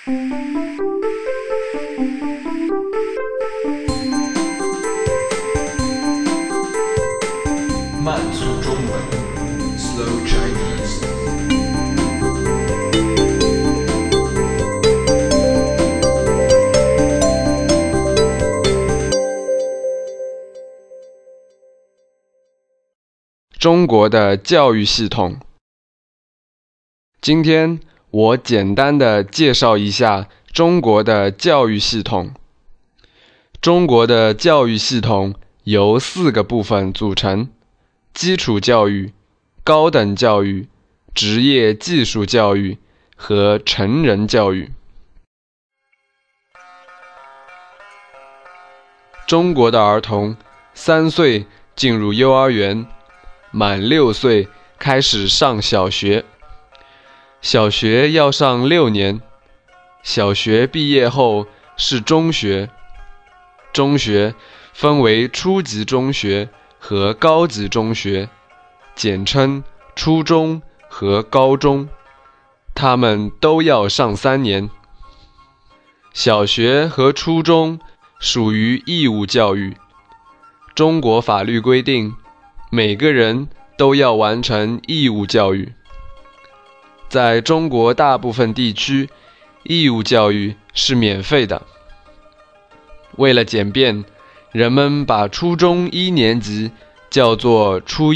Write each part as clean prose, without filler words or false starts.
慢速中文 Slow Chinese。 中国的教育系统。今天我简单的介绍一下中国的教育系统。中国的教育系统由4个部分组成：基础教育、高等教育、职业技术教育和成人教育。中国的儿童3岁进入幼儿园，满6岁开始上小学。小学要上6年，小学毕业后是中学。中学分为初级中学和高级中学，简称初中和高中，他们都要上3年。小学和初中属于义务教育。中国法律规定，每个人都要完成义务教育。在中国大部分地区，义务教育是免费的。为了简便，人们把初中1年级叫做初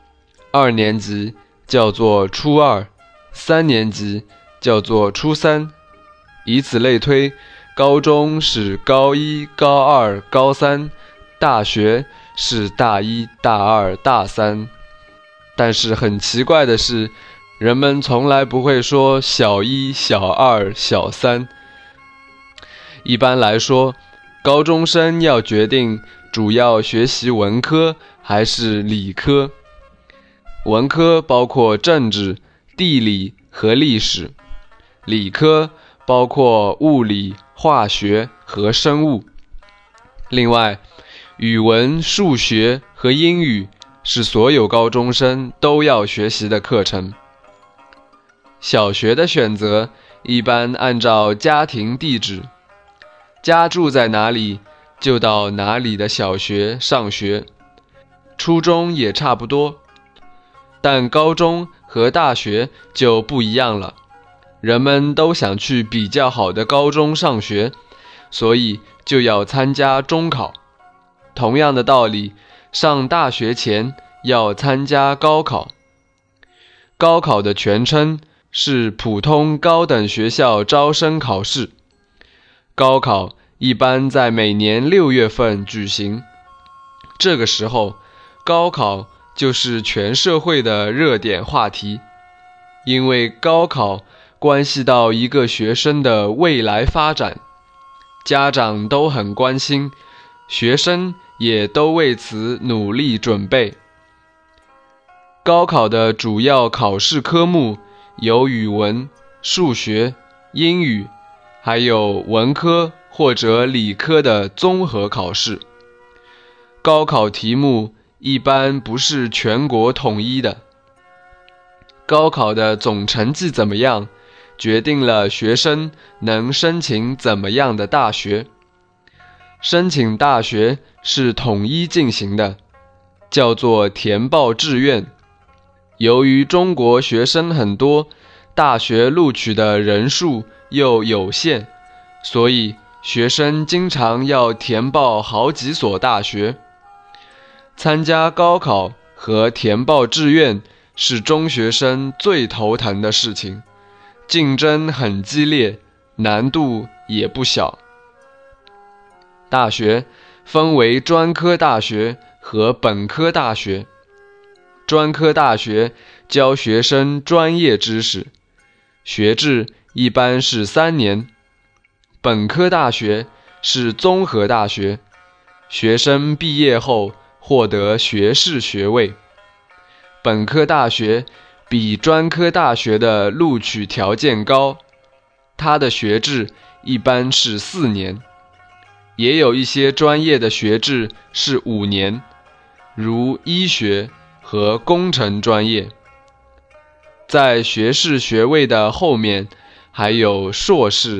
1，2年级叫做初2，3年级叫做初3，以此类推，高中是高1、高2、高3，大学是大1、大2、大3。但是很奇怪的是，人们从来不会说小1、小2、小3。一般来说，高中生要决定主要学习文科还是理科。文科包括政治、地理和历史，理科包括物理、化学和生物。另外，语文、数学和英语是所有高中生都要学习的课程。小学的选择一般按照家庭地址，家住在哪里就到哪里的小学上学。初中也差不多，但高中和大学就不一样了。人们都想去比较好的高中上学，所以就要参加中考。同样的道理，上大学前要参加高考。高考的全称是普通高等学校招生考试。高考一般在每年6月份举行，这个时候，高考就是全社会的热点话题，因为高考关系到一个学生的未来发展，家长都很关心，学生也都为此努力准备。高考的主要考试科目有语文、数学、英语，还有文科或者理科的综合考试。高考题目一般不是全国统一的。高考的总成绩怎么样，决定了学生能申请怎么样的大学。申请大学是统一进行的，叫做填报志愿。由于中国学生很多，大学录取的人数又有限，所以学生经常要填报好几所大学。参加高考和填报志愿是中学生最头疼的事情，竞争很激烈，难度也不小。大学分为专科大学和本科大学。专科大学教学生专业知识，学制一般是3年。本科大学是综合大学，学生毕业后获得学士学位。本科大学比专科大学的录取条件高，它的学制一般是4年，也有一些专业的学制是5年，如医学和工程专业。在学士学位的后面还有硕士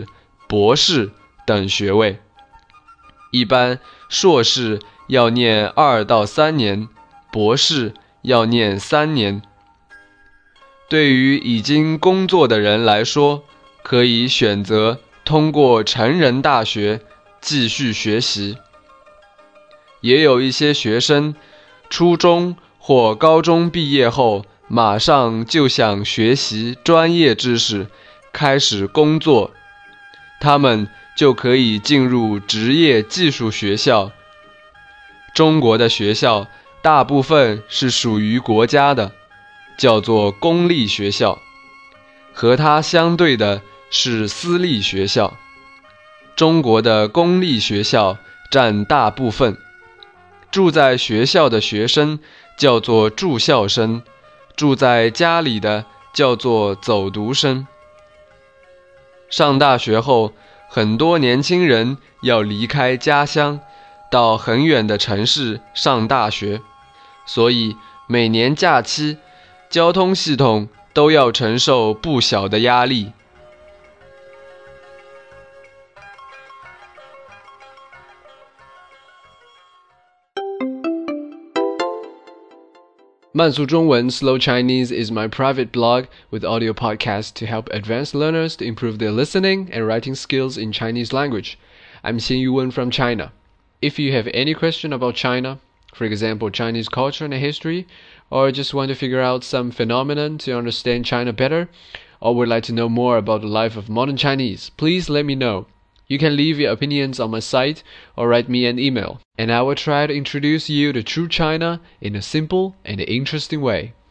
博士等学位。一般硕士要念2到3年，博士要念3年。对于已经工作的人来说，可以选择通过成人大学继续学习。也有一些学生，初中或高中毕业后，马上就想学习专业知识，开始工作，他们就可以进入职业技术学校。中国的学校大部分是属于国家的，叫做公立学校，和它相对的是私立学校。中国的公立学校占大部分，住在学校的学生叫做住校生，住在家里的叫做走读生。上大学后，很多年轻人要离开家乡，到很远的城市上大学，所以每年假期，交通系统都要承受不小的压力。慢速中文 Slow Chinese is my private blog with audio podcasts to help advanced learners to improve their listening and writing skills in Chinese language. I'm Xin Yuwen from China. If you have any question about China, for example, Chinese culture and history, or just want to figure out some phenomenon to understand China better, or would like to know more about the life of modern Chinese, please let me know. You can leave your opinions on my site or write me an email, and I will try to introduce you to true China in a simple and interesting way.